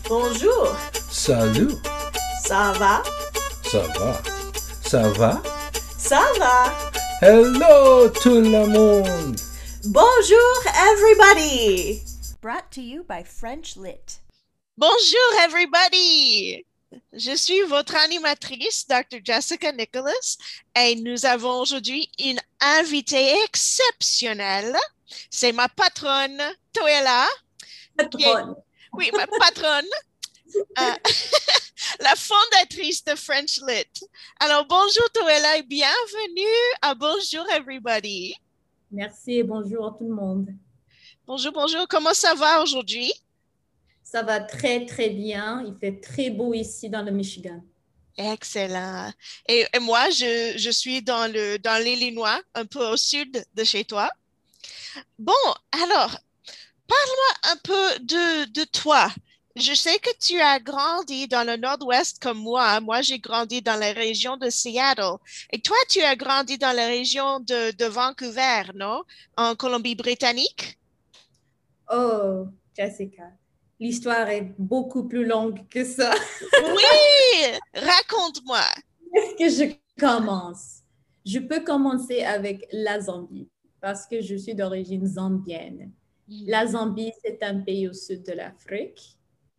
Bonjour, Salut, ça va? ça va? Ça va? Ça va? Hello tout le monde! Bonjour, everybody! Brought to you by French Lit. Bonjour everybody! Je suis votre animatrice, Dr. Jessica Nicholas, et nous avons aujourd'hui une invitée exceptionnelle. C'est ma patronne, Toela. Patronne. Oui, ma patronne, euh, la fondatrice de French Lit. Alors, bonjour Toela et bienvenue à Bonjour everybody. Merci et bonjour à tout le monde. Bonjour, bonjour. Comment ça va aujourd'hui? Ça va très, très bien. Il fait très beau ici dans le Michigan. Excellent. Et moi, je suis dans l'Illinois, un peu au sud de chez toi. Bon, alors, parle-moi un peu de toi. Je sais que tu as grandi dans le nord-ouest comme moi. Moi, j'ai grandi dans la région de Seattle. Et toi, tu as grandi dans la région de Vancouver, non? En Colombie-Britannique? Oh, Jessica, l'histoire est beaucoup plus longue que ça. Oui! Raconte-moi. Est-ce que je commence? Je peux commencer avec la Zambie parce que je suis d'origine zambienne. La Zambie, c'est un pays au sud de l'Afrique.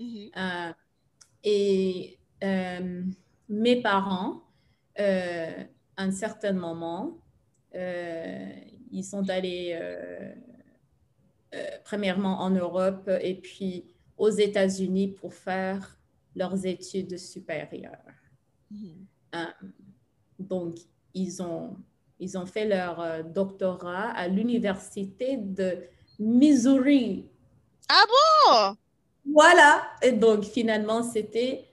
Et mes parents, à un certain moment, ils sont allés premièrement en Europe et puis aux États-Unis pour faire leurs études supérieures. Donc, ils ont fait leur doctorat à l'université de Missouri. Ah bon? Voilà. Et donc, finalement, c'était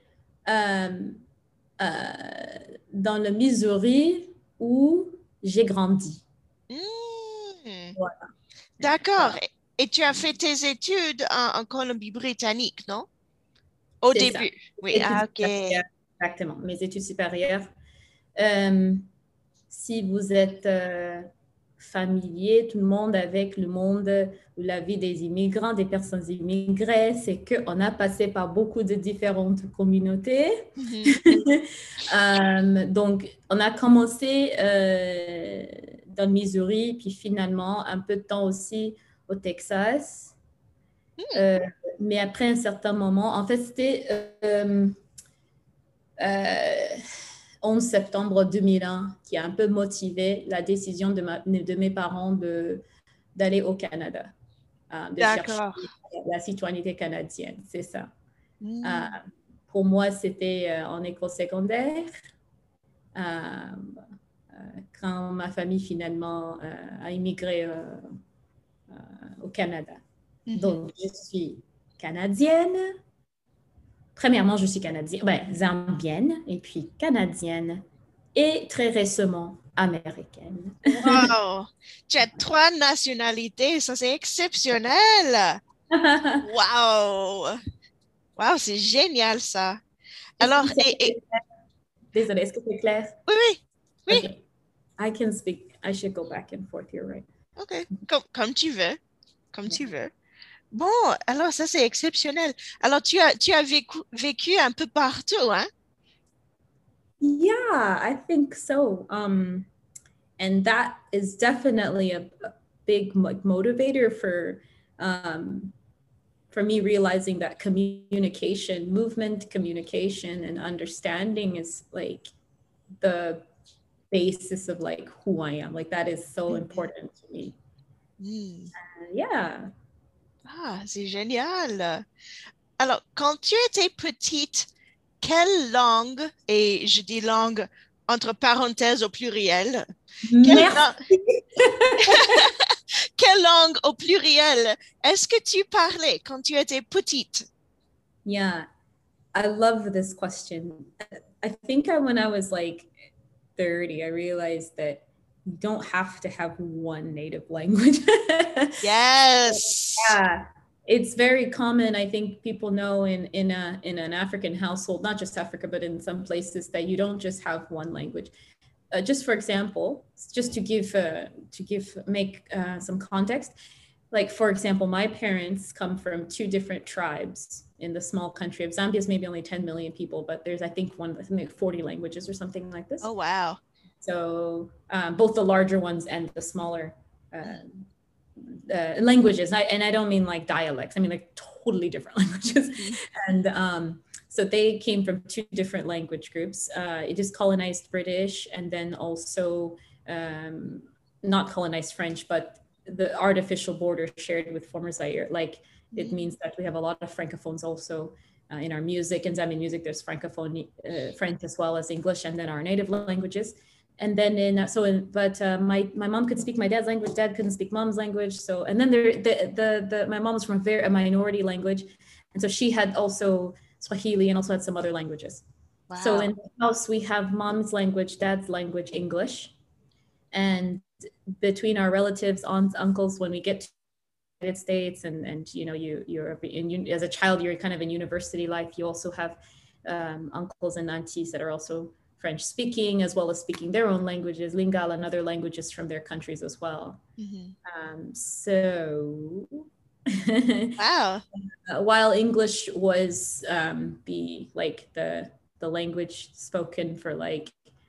dans le Missouri où j'ai grandi. Voilà. D'accord. Voilà. Et tu as fait tes études en Colombie-Britannique, non? Au C'est début. ça. Oui, Études ah, ok. supérieures. Exactement, mes études supérieures. Si vous êtes familier, tout le monde, avec le monde ou la vie des immigrants, des personnes immigrées, c'est qu'on a passé par beaucoup de différentes communautés. Donc, on a commencé dans le Missouri, puis finalement, un peu de temps aussi au Texas. Mais après un certain moment, en fait, c'était 11 septembre 2001 qui a un peu motivé la décision de mes parents d'aller au Canada, de chercher la citoyenneté canadienne, c'est ça. Pour moi, c'était en école secondaire. Quand ma famille finalement a immigré au Canada. Donc, je suis canadienne. Premièrement, je suis zambienne, et puis canadienne, et très récemment américaine. Wow! Tu as 3 nationalités, ça c'est exceptionnel! Wow! Wow, c'est génial ça! Alors, Désolée, est-ce que c'est clair? Oui. Okay. I can speak. I should go back and forth here, right? OK, comme tu veux, tu veux. Bon, alors ça c'est exceptionnel. Alors tu as vécu un peu partout, hein? Yeah, I think so. And that is definitely a big motivator for me realizing that movement communication and understanding is like the basis of like who I am. Like that is so important to me. Yeah. Ah, c'est génial. Alors, quand tu étais petite, quelle langue, et je dis langue entre parenthèses au pluriel, quelle langue au pluriel est-ce que tu parlais quand tu étais petite? Yeah, I love this question. I think when I was like 30, I realized that you don't have to have one native language. Yes. Yeah. It's very common. I think people know in an African household, not just Africa, but in some places, that you don't just have one language. Just for example, just to make some context, like, for example, my parents come from two different tribes in the small country of Zambia. Is maybe only 10 million people, but there's, I think, like 40 languages or something like this. Oh, wow. So both the larger ones and the smaller languages. And I don't mean like dialects. I mean like totally different languages. And so they came from two different language groups. It is colonized British, and then also not colonized French, but the artificial border shared with former Zaire. Like it means that we have a lot of francophones also in our music. In Zambian music, there's francophone French as well as English, and then our native languages. And then my mom could speak my dad's language. Dad couldn't speak mom's language. So, and then my mom's from a minority language, and so she had also Swahili and also had some other languages. Wow. So in the house we have mom's language, dad's language, English, and between our relatives, aunts, uncles, when we get to the United States and you know you're as a child you're kind of in university life, you also have uncles and aunties that are also French speaking, as well as speaking their own languages, Lingala and other languages from their countries as well. So wow. While English was the language spoken for like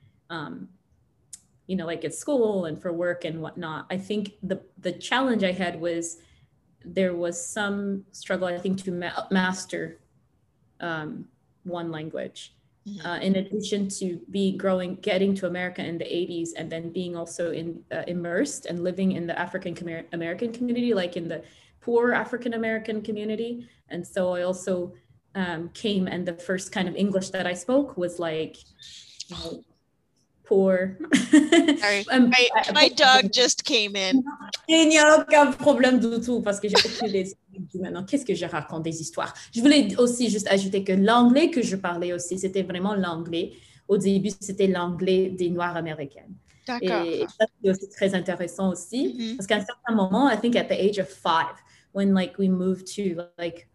you know, like at school and for work and whatnot, I think the challenge I had was there was some struggle, I think, to master one language. In addition to getting to America in the 80s, and then being also immersed and living in the African American community, like in the poor African American community. And so I also came, and the first kind of English that I spoke was like, you know, poor. Sorry, my dog just came in. Il n'y a aucun problème du tout, parce que j'ai aucune idée maintenant. Qu'est-ce que je raconte des histoires? Je voulais aussi juste ajouter que l'anglais que je parlais aussi, c'était vraiment l'anglais. Au début, c'était l'anglais des Noirs américaines. D'accord. Et ça, c'est aussi très intéressant aussi, parce qu'à un certain moment, I think at the age of 5, when like we moved to like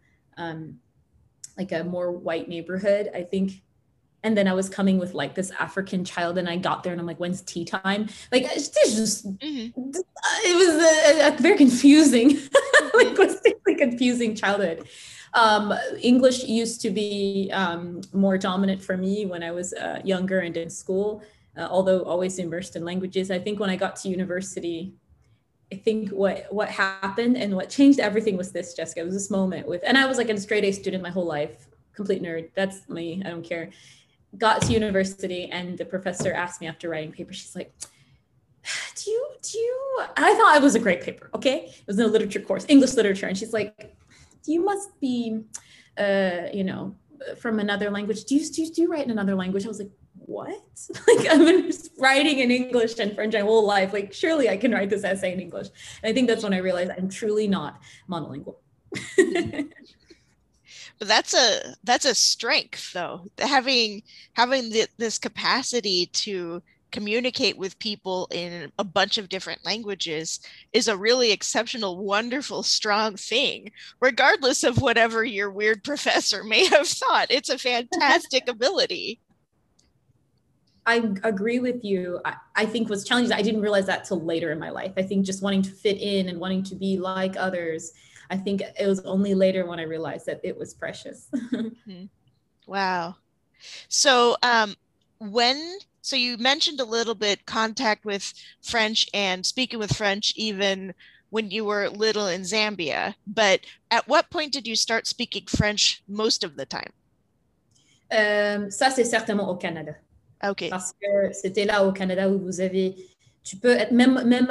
a more white neighborhood, I think. And then I was coming with like this African child, and I got there and I'm like, when's tea time? Like, it's just, it was a very confusing, linguistically confusing childhood. English used to be more dominant for me when I was younger and in school, although always immersed in languages. I think when I got to university, I think what happened and what changed everything was this, Jessica. It was this moment and I was like a straight A student my whole life, complete nerd. That's me, I don't care. Got to university, and the professor asked me after writing paper, she's like, do you, I thought it was a great paper, okay? It was in a literature course, English literature. And she's like, you must be, you know, from another language. Do you write in another language? I was like, what? Like, I've been writing in English and French my whole life. Like, surely I can write this essay in English. And I think that's when I realized I'm truly not monolingual. But that's a strength, though. Having this capacity to communicate with people in a bunch of different languages is a really exceptional, wonderful, strong thing, regardless of whatever your weird professor may have thought. It's a fantastic ability. I agree with you. I think what's challenging, I didn't realize that till later in my life. I think just wanting to fit in and wanting to be like others, I think it was only later when I realized that it was precious. Wow. So so you mentioned a little bit contact with French and speaking with French even when you were little in Zambia, but at what point did you start speaking French most of the time? Ça, c'est certainement au Canada. Okay. Parce que c'était là au Canada où tu peux être même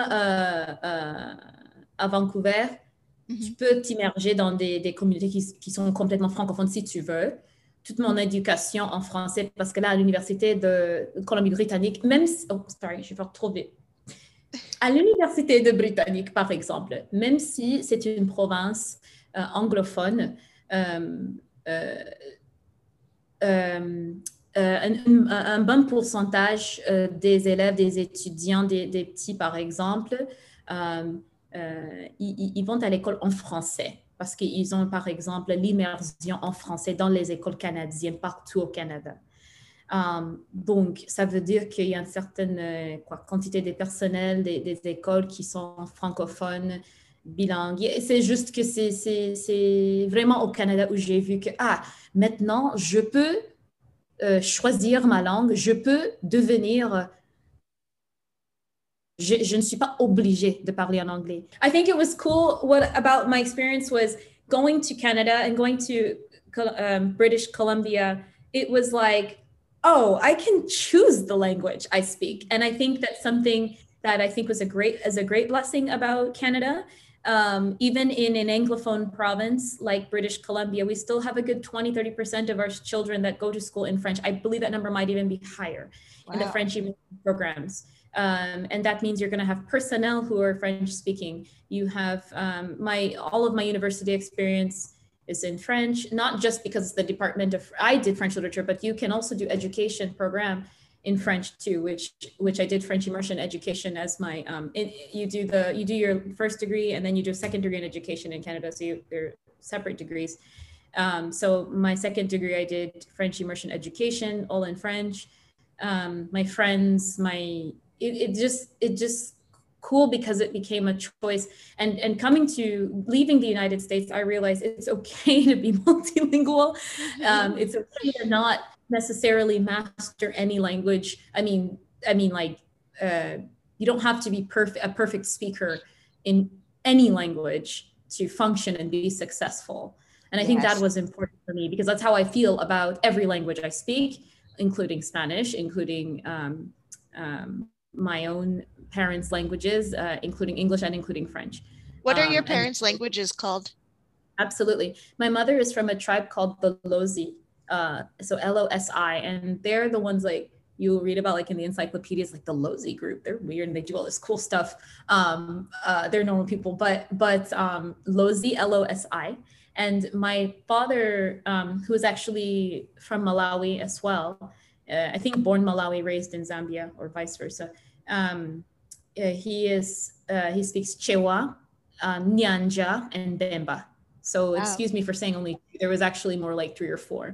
à Vancouver, tu peux t'immerger dans des communautés qui sont complètement francophones si tu veux. Toute mon éducation en français, parce que là, à l'université de Colombie-Britannique, même si, je vais faire trop vite. À l'université de Britannique, par exemple, même si c'est une province anglophone, un bon pourcentage des élèves, des étudiants, des petits, par exemple, ils vont à l'école en français parce qu'ils ont, par exemple, l'immersion en français dans les écoles canadiennes partout au Canada. Donc, ça veut dire qu'il y a une certaine quantité de personnel des écoles qui sont francophones bilingue. C'est juste que c'est vraiment au Canada où j'ai vu que, maintenant, je peux choisir ma langue, je peux devenir... Je ne suis pas obligée de parler en anglais. I think it was cool. What about my experience was going to Canada and going to British Columbia. It was like, oh, I can choose the language I speak. And I think that's something that I think was a great blessing about Canada. Even in an Anglophone province like British Columbia, we still have a good 20-30% of our children that go to school in French. I believe that number might even be higher in the French programs. And that means you're going to have personnel who are French speaking. You have all of my university experience is in French, not just because the department of, I did French literature, but you can also do education program in French too, which I did French immersion education as my, you do your first degree and then you do a second degree in education in Canada. So they're separate degrees. So my second degree, I did French immersion education, all in French. My friends, it just cool because it became a choice. And leaving the United States, I realized it's okay to be multilingual. It's okay to not necessarily master any language. I mean, you don't have to be a perfect speaker in any language to function and be successful. And I think that was important for me because that's how I feel about every language I speak, including Spanish, including my own parents' languages, including English and including French. What are your parents' languages called? Absolutely. My mother is from a tribe called the Lozi, so L-O-S-I, and they're the ones like you'll read about like in the encyclopedias, like the Lozi group. They're weird and they do all this cool stuff. They're normal people, but Lozi, L-O-S-I. And my father, who is actually from Malawi as well, I think born Malawi, raised in Zambia, or vice versa. He speaks Chewa, Nyanja, and Bemba. So excuse me for saying only two. There was actually more like 3 or 4.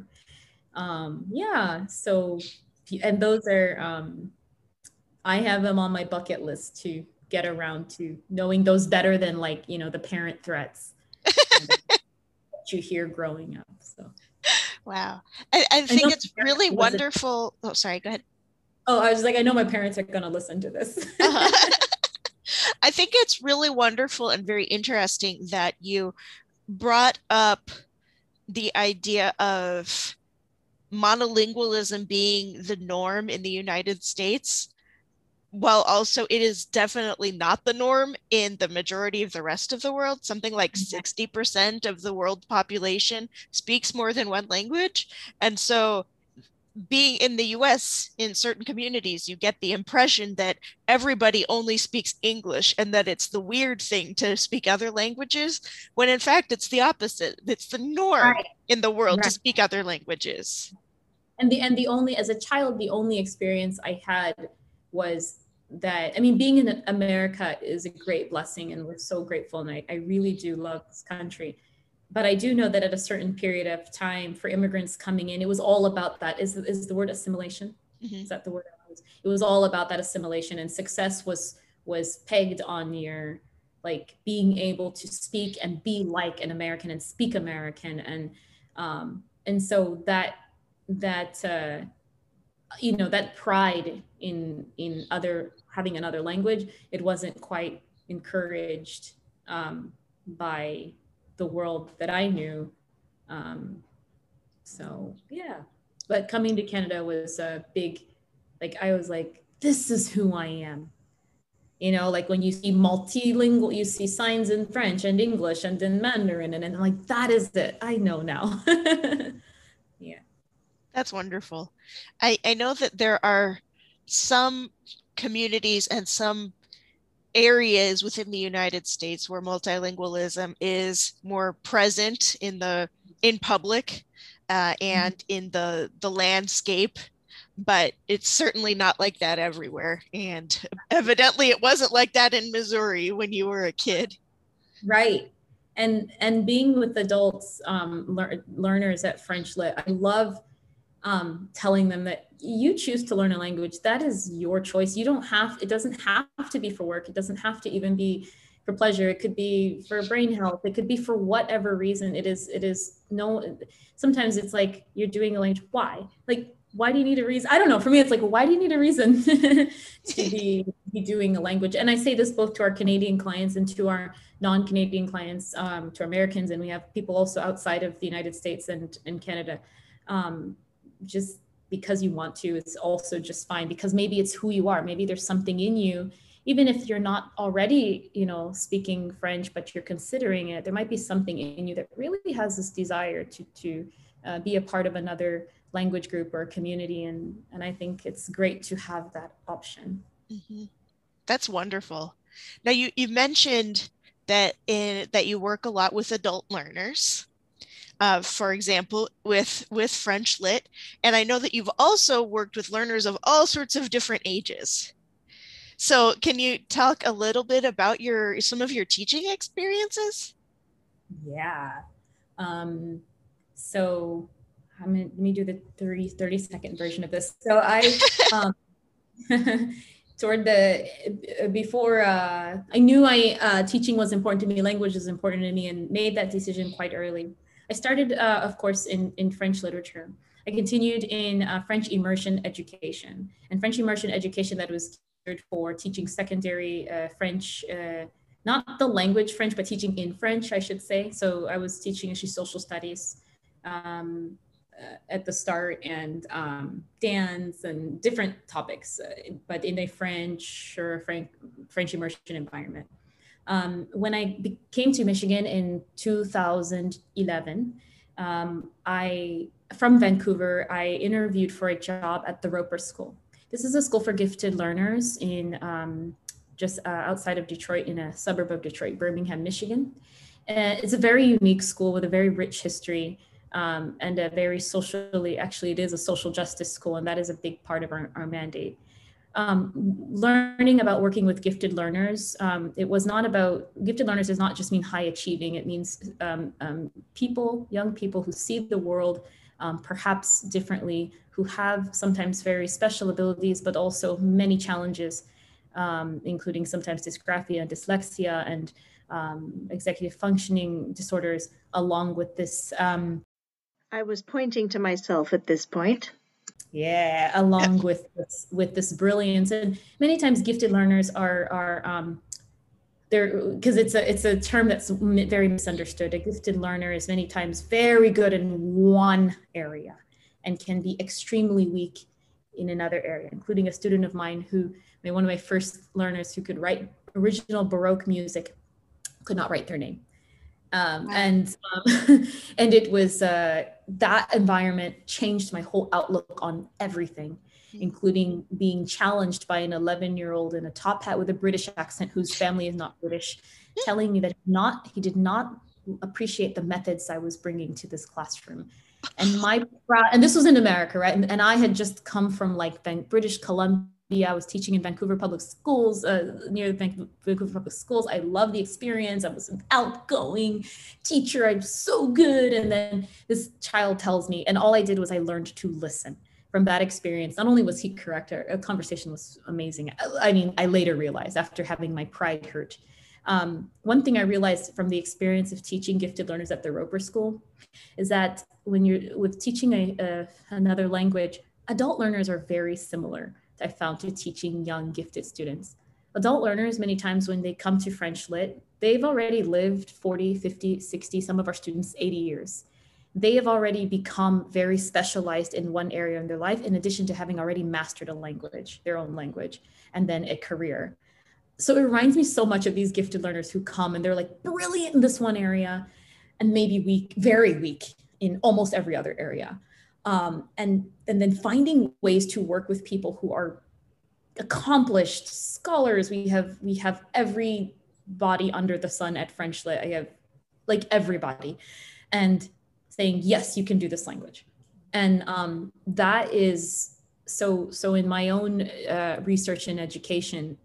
So, and those are, I have them on my bucket list to get around to knowing those better than like, you know, the parent threats that you hear growing up. So. Wow. I think it's really wonderful. Oh, sorry, go ahead. Oh, I was like, I know my parents are going to listen to this. I think it's really wonderful and very interesting that you brought up the idea of monolingualism being the norm in the United States, while also it is definitely not the norm in the majority of the rest of the world. Something like 60% of the world population speaks more than one language. And so being in the US, in certain communities, you get the impression that everybody only speaks English and that it's the weird thing to speak other languages, when in fact it's the opposite. It's the norm in the world to speak other languages. And the only, as a child, the only experience I had was that, I mean, being in America is a great blessing and we're so grateful, and I really do love this country. But I do know that at a certain period of time for immigrants coming in, it was all about that. Is the word assimilation? Mm-hmm. Is that the word? It was all about that assimilation, and success was pegged on your like being able to speak and be like an American and speak American, and so that you know, that pride in having another language, it wasn't quite encouraged by the world that I knew. So yeah, but coming to Canada was a big, like, I was like, this is who I am. You know, like when you see multilingual, you see signs in French and English and in Mandarin, and I'm like, that is it. I know now. Yeah. That's wonderful. I know that there are some communities and some areas within the United States where multilingualism is more present in public and in the landscape, but it's certainly not like that everywhere. And evidently it wasn't like that in Missouri when you were a kid. Right. And being with adults, learners at French Lit, I love telling them that you choose to learn a language. That is your choice. It doesn't have to be for work. It doesn't have to even be for pleasure. It could be for brain health. It could be for whatever reason. It is no, sometimes it's like you're doing a language. Why? Like, why do you need a reason? I don't know. For me, it's like, why do you need a reason to be doing a language? And I say this both to our Canadian clients and to our non-Canadian clients, to Americans, and we have people also outside of the United States and Canada. Just because you want to, it's also just fine, because maybe it's who you are. Maybe there's something in you, even if you're not already, speaking French, but you're considering it, there might be something in you that really has this desire to be a part of another language group or community. And I think it's great to have that option. Mm-hmm. That's wonderful. Now you mentioned that you work a lot with adult learners, for example, with French Lit. And I know that you've also worked with learners of all sorts of different ages. So can you talk a little bit about some of your teaching experiences? Yeah. So let me do the 30-second version of this. So I, before I knew teaching was important to me, language is important to me, and made that decision quite early. I started, of course, in French literature. I continued in French immersion education, and French immersion education that was geared for teaching secondary French, not the language French, but teaching in French, I should say. So I was teaching actually social studies at the start, and dance and different topics, but in a French immersion environment. When I came to Michigan in 2011, from Vancouver, I interviewed for a job at the Roper School. This is a school for gifted learners in just outside of Detroit, in a suburb of Detroit, Birmingham, Michigan. It's a very unique school with a very rich history, and a very it is a social justice school, and that is a big part of our mandate. Learning about working with gifted learners, gifted learners does not just mean high achieving. It means young people who see the world perhaps differently, who have sometimes very special abilities, but also many challenges, including sometimes dysgraphia, dyslexia, and executive functioning disorders, along with this. I was pointing to myself at this point. Yeah, along with this brilliance. And many times gifted learners are there, because it's a term that's very misunderstood. A gifted learner is many times very good in one area and can be extremely weak in another area, including a student of mine one of my first learners who could write original Baroque music, could not write their name. Wow. And it was that environment changed my whole outlook on everything, including being challenged by an 11-year-old in a top hat with a British accent whose family is not British, telling me that he did not appreciate the methods I was bringing to this classroom. And this was in America, right? And I had just come from British Columbia. I was teaching in Vancouver Public Schools, near the Vancouver Public Schools. I loved the experience. I was an outgoing teacher. I'm so good. And then this child tells me, and all I did was I learned to listen. From that experience, not only was he correct, our conversation was amazing. I mean, I later realized, after having my pride hurt, one thing I realized from the experience of teaching gifted learners at the Roper School is that when you're with teaching another language, adult learners are very similar, I found, to teaching young gifted students. Adult learners, many times when they come to French Lit, they've already lived 40, 50, 60, some of our students 80 years. They have already become very specialized in one area in their life, in addition to having already mastered a language, their own language, and then a career. So it reminds me so much of these gifted learners who come and they're like brilliant in this one area and maybe weak, very weak in almost every other area. And then finding ways to work with people who are accomplished scholars. We have everybody under the sun at French Lit. I have everybody, and saying, yes, you can do this language. And that is so in my own research and education,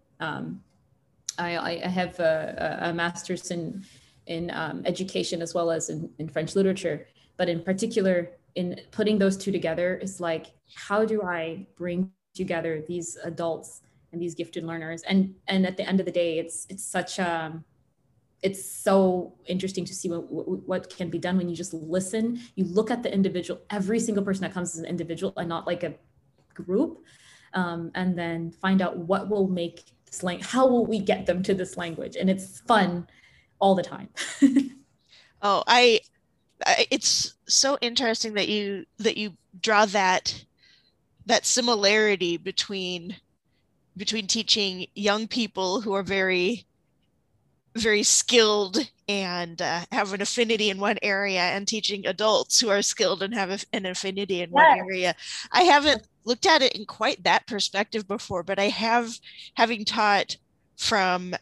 I have a master's in education as well as in French literature, but in particular, in putting those two together is how do I bring together these adults and these gifted learners? And at the end of the day, it's such it's so interesting to see what can be done when you just listen. You look at the individual, every single person that comes as an individual and not like a group, and then find out what will make this language, how will we get them to this language? And it's fun all the time. Oh, it's so interesting that you draw that similarity between teaching young people who are very, very skilled and have an affinity in one area, and teaching adults who are skilled and have an affinity in one area. I haven't looked at it in quite that perspective before, but I have, having taught from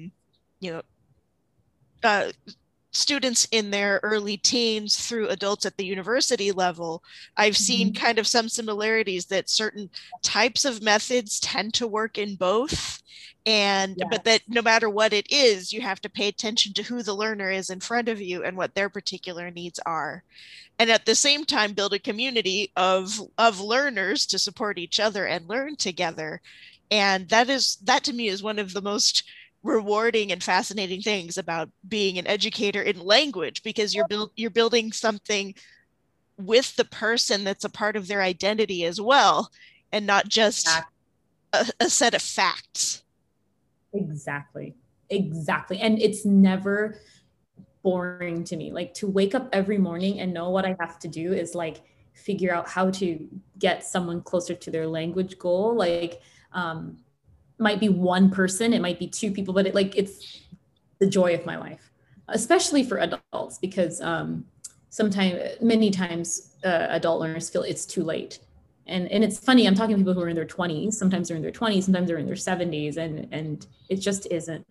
students in their early teens through adults at the university level, I've seen kind of some similarities that certain types of methods tend to work in both. But that no matter what it is, you have to pay attention to who the learner is in front of you and what their particular needs are. And at the same time, build a community of learners to support each other and learn together. And that to me is one of the most rewarding and fascinating things about being an educator in language, because you're building something with the person that's a part of their identity as well, and not just a set of facts. Exactly. And it's never boring to me. Like, to wake up every morning and know what I have to do is like figure out how to get someone closer to their language goal. Like, might be one person, it might be two people, but it's the joy of my life, especially for adults, because many times adult learners feel it's too late. And it's funny, I'm talking to people who are in their 20s, sometimes they're in their 20s, sometimes they're in their 70s, and it just isn't.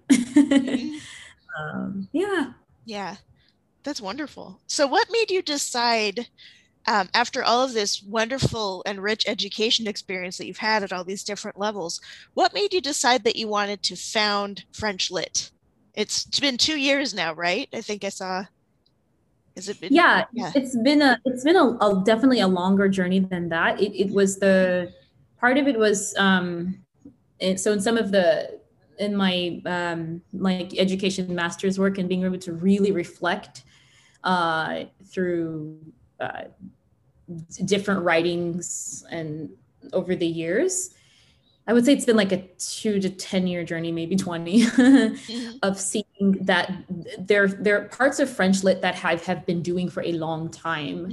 Yeah, that's wonderful. So what made you decide, after all of this wonderful and rich education experience that you've had at all these different levels, what made you decide that you wanted to found French Lit? It's been 2 years now, right? I think I saw. Has it been? Yeah. It's been a definitely a longer journey than that. It was the part of it was so in some of in my like education master's work, and being able to really reflect through different writings and over the years, I would say it's been like a 2 to 10 year journey, maybe 20, of seeing that there are parts of French Lit that have been doing for a long time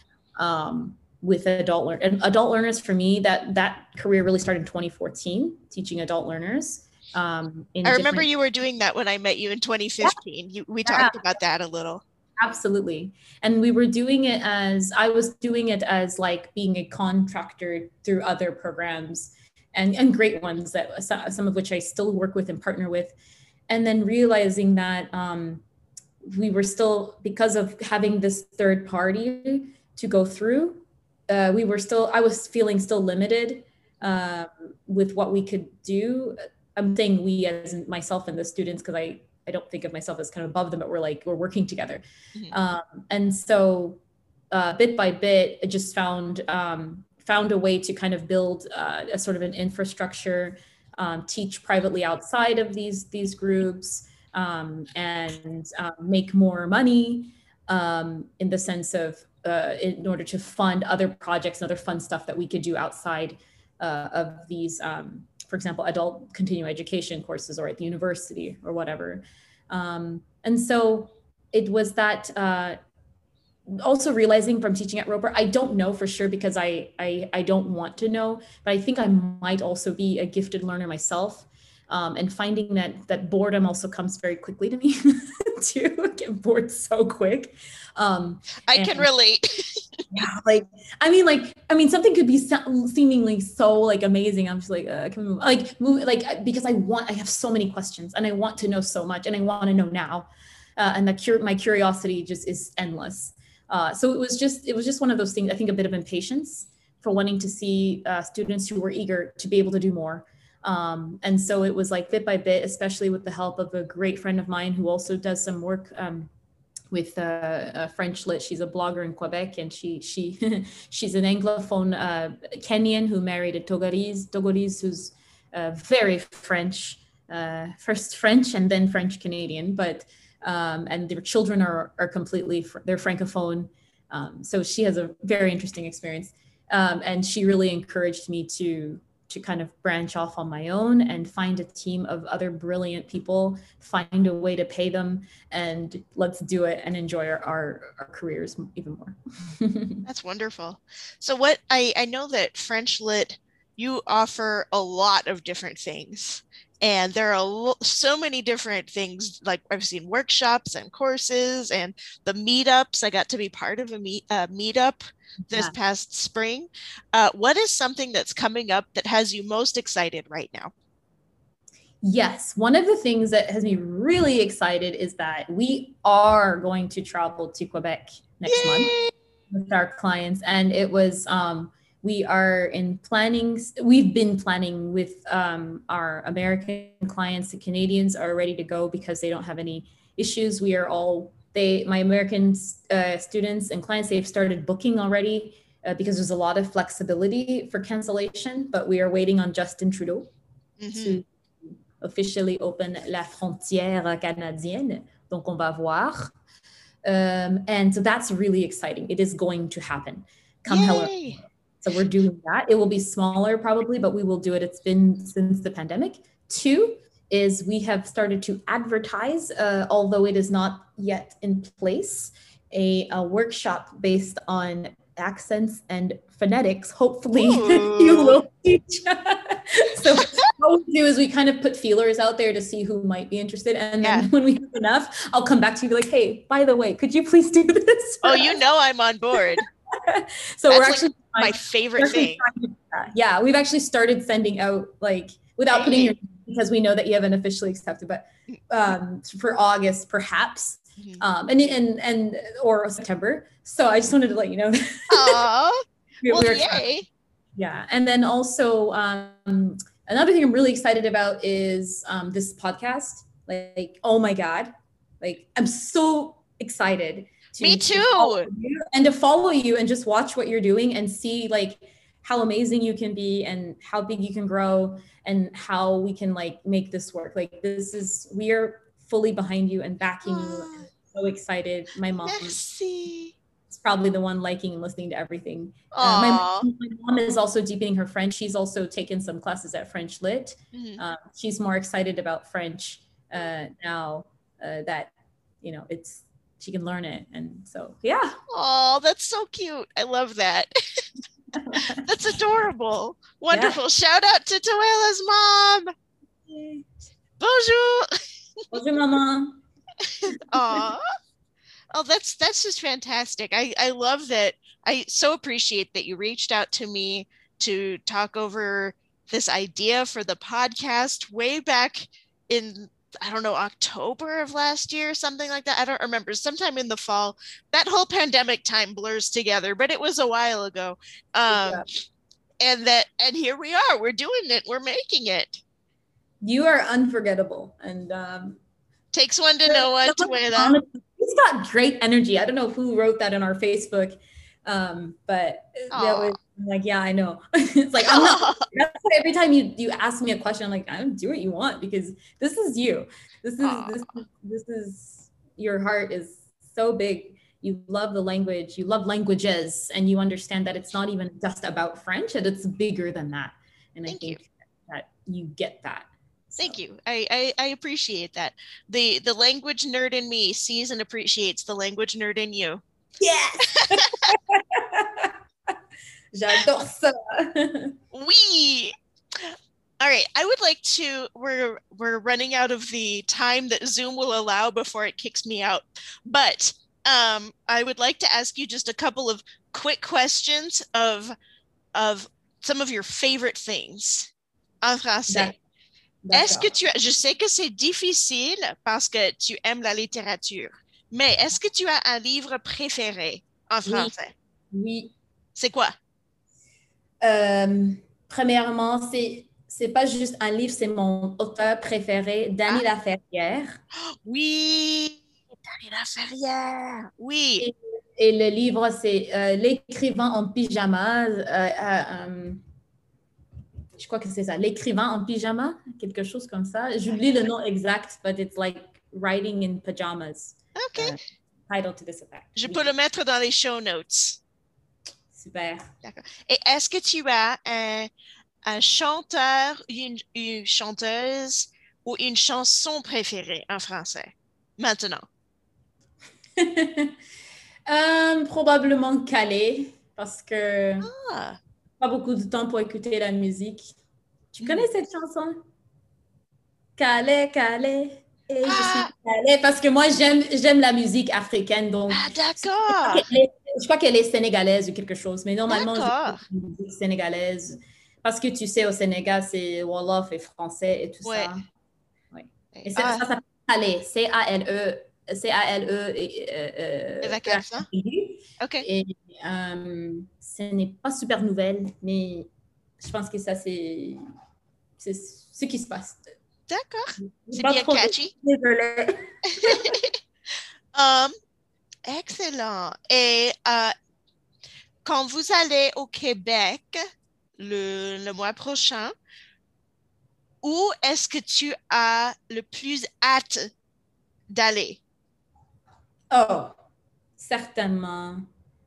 with adult learners. For me, that career really started in 2014, teaching adult learners. I remember you were doing that when I met you in 2015. We talked about that a little. Absolutely. And I was doing it as like being a contractor through other programs and great ones, that some of which I still work with and partner with. And then realizing that we were still, because of having this third party to go through, I was feeling still limited with what we could do. I'm saying we as myself and the students, because I don't think of myself as kind of above them, but we're working together. And so bit by bit, I just found a way to kind of build a sort of an infrastructure, teach privately outside of these groups, and make more money in the sense of in order to fund other projects and other fun stuff that we could do outside of these, for example, adult continuing education courses or at the university or whatever. And so it was that also realizing from teaching at Roper, I don't know for sure because I don't want to know, but I think I might also be a gifted learner myself. And finding that boredom also comes very quickly to me too. I get bored so quick. I can relate. Yeah, I mean, something could be seemingly so like amazing. I'm just like, can we move? Because I have so many questions and I want to know so much and I want to know now. And my curiosity just is endless. So it was just one of those things, I think a bit of impatience for wanting to see students who were eager to be able to do more. And so it was like bit by bit, especially with the help of a great friend of mine who also does some work with French Lit. She's a blogger in Quebec, and she's an Anglophone Kenyan who married a Togolese who's very French, first French and then French Canadian. But and their children are completely, they're Francophone. So she has a very interesting experience. And she really encouraged me to kind of branch off on my own and find a team of other brilliant people, find a way to pay them, and let's do it and enjoy our careers even more. That's wonderful. So what I know that French Lit, you offer a lot of different things. And there are so many different things, like I've seen workshops and courses and the meetups. I got to be part of a meetup this past spring. What is something that's coming up that has you most excited right now? Yes, one of the things that has me really excited is that we are going to travel to Quebec next month with our clients. And it was... we've been planning with our American clients. The Canadians are ready to go because they don't have any issues. My American students and clients, they've started booking already because there's a lot of flexibility for cancellation, but we are waiting on Justin Trudeau to officially open la frontière canadienne. Donc on va voir. And so that's really exciting. It is going to happen. Come hello. So we're doing that. It will be smaller probably, but we will do it. It's been since the pandemic. 2 is we have started to advertise, although it is not yet in place, a workshop based on accents and phonetics. Hopefully you will teach. So what we do is we kind of put feelers out there to see who might be interested. And then when we have enough, I'll come back to you and be like, hey, by the way, could you please do this? Oh, you know I'm on board. So that's we're actually my favorite thing. Yeah, we've actually started sending out, like, without putting your, because we know that you haven't officially accepted, but for August perhaps, and or September. So I just wanted to let you know. Aww. Yay. Yeah, and then also another thing I'm really excited about is this podcast. Like, oh my God, like I'm so excited. Me too. To follow you and just watch what you're doing and see like how amazing you can be and how big you can grow and how we can like make this work. Like we are fully behind you and backing you. I'm so excited. My mom is probably the one liking and listening to everything. My mom is also deepening her French. She's also taken some classes at French Lit. She's more excited about French now that, you know, she can learn it. And so, yeah. Oh, that's so cute. I love that. That's adorable. Wonderful. Yeah. Shout out to Toela's mom. Bonjour. Bonjour, maman. Aw. Oh, that's just fantastic. I love that. I so appreciate that you reached out to me to talk over this idea for the podcast way back in, I don't know, October of last year, something like that. I don't remember. Sometime in the fall. That whole pandemic time blurs together, but it was a while ago. And here we are. We're doing it. We're making it. You are unforgettable. And takes one to know one to wear that. He's got great energy. I don't know who wrote that on our Facebook, but that was like, yeah, I know. It's like, I'm not, that's why every time you ask me a question, I'm like, I don't do what you want because this is you. This is your heart is so big. You love the language, you love languages, and you understand that it's not even just about French, and it's bigger than that. And I think that you get that. Thank you. I appreciate that. The language nerd in me sees and appreciates the language nerd in you. Yes. J'adore ça. Oui. All right. I would like to, we're running out of the time that Zoom will allow before it kicks me out. But I would like to ask you just a couple of quick questions of some of your favorite things en français. Est-ce que je sais que c'est difficile parce que tu aimes la littérature, mais est-ce que tu as un livre préféré en français? Oui. C'est quoi? Premièrement, c'est pas juste un livre, c'est mon auteur préféré, Dany Laferrière. Oui, Dany Laferrière, oui. Et le livre, c'est L'écrivain en pyjama. Je crois que c'est ça, L'écrivain en pyjama, quelque chose comme ça. J'oublie le nom exact, but it's like Riding in Pajamas. OK. Title to this effect. Je peux le mettre dans les show notes. Super. D'accord. Et est-ce que tu as un chanteur, une chanteuse ou une chanson préférée en français maintenant? Probablement Calais, parce que Ah. pas beaucoup de temps pour écouter la musique. Tu connais cette chanson? Calais, Calais. Et je suis Calais, parce que moi, j'aime la musique africaine. Donc, d'accord. Je crois qu'elle est sénégalaise ou quelque chose, mais normalement, j'écoute D'accord. la musique sénégalaise. Parce que tu sais, au Sénégal, c'est Wolof et français et tout ça. Ouais. Et ça s'appelle Calais, C-A-L-E. Avec l'accent? OK. Et ce n'est pas super nouvelle, mais je pense que ça, c'est ce qui se passe. D'accord. C'est Pas bien trop catchy. Désolée. Excellent. Et quand vous allez au Québec le mois prochain, où est-ce que tu as le plus hâte d'aller? Oh, certainement.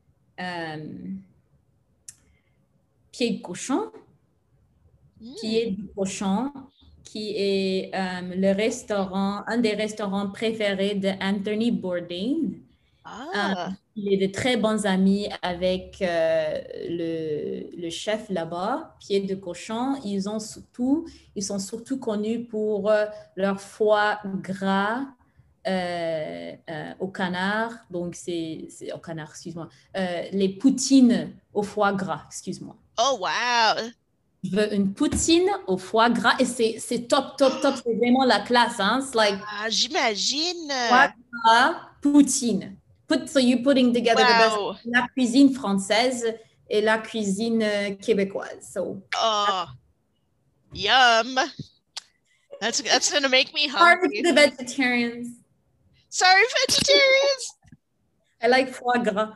Pied de cochon. Pied de cochon, qui est un des restaurants préférés d'Anthony Bourdain. Il est de très bons amis avec le chef là-bas, Pied de cochon. Ils sont surtout connus pour leur foie gras au canard. Donc, c'est au canard, excuse-moi. Les poutines au foie gras, excuse-moi. Oh, wow! Je veux une poutine au foie gras et c'est top. C'est vraiment la classe, hein? It's like j'imagine. Foie gras, poutine. So you're putting together the best, la cuisine française et la cuisine québécoise. So. Oh, yum! That's gonna make me hungry. Sorry to the vegetarians. Sorry, vegetarians. I like foie gras.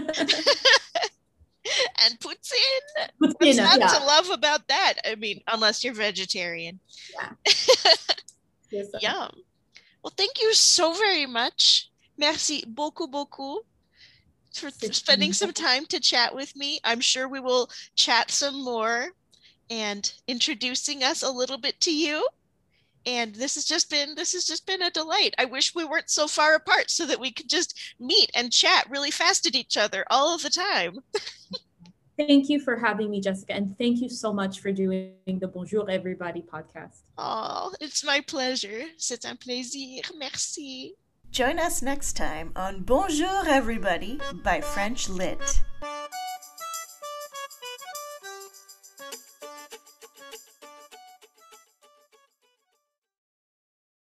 And poutine. What's not to love about that? I mean, unless you're vegetarian. Yeah. Yum. Well, thank you so very much. Merci beaucoup for spending some time to chat with me. I'm sure we will chat some more and introducing us a little bit to you. And this has just been a delight. I wish we weren't so far apart so that we could just meet and chat really fast at each other all of the time. Thank you for having me, Jessica. And thank you so much for doing the Bonjour Everybody podcast. Oh, it's my pleasure. C'est un plaisir. Merci. Join us next time on Bonjour Everybody by French Lit.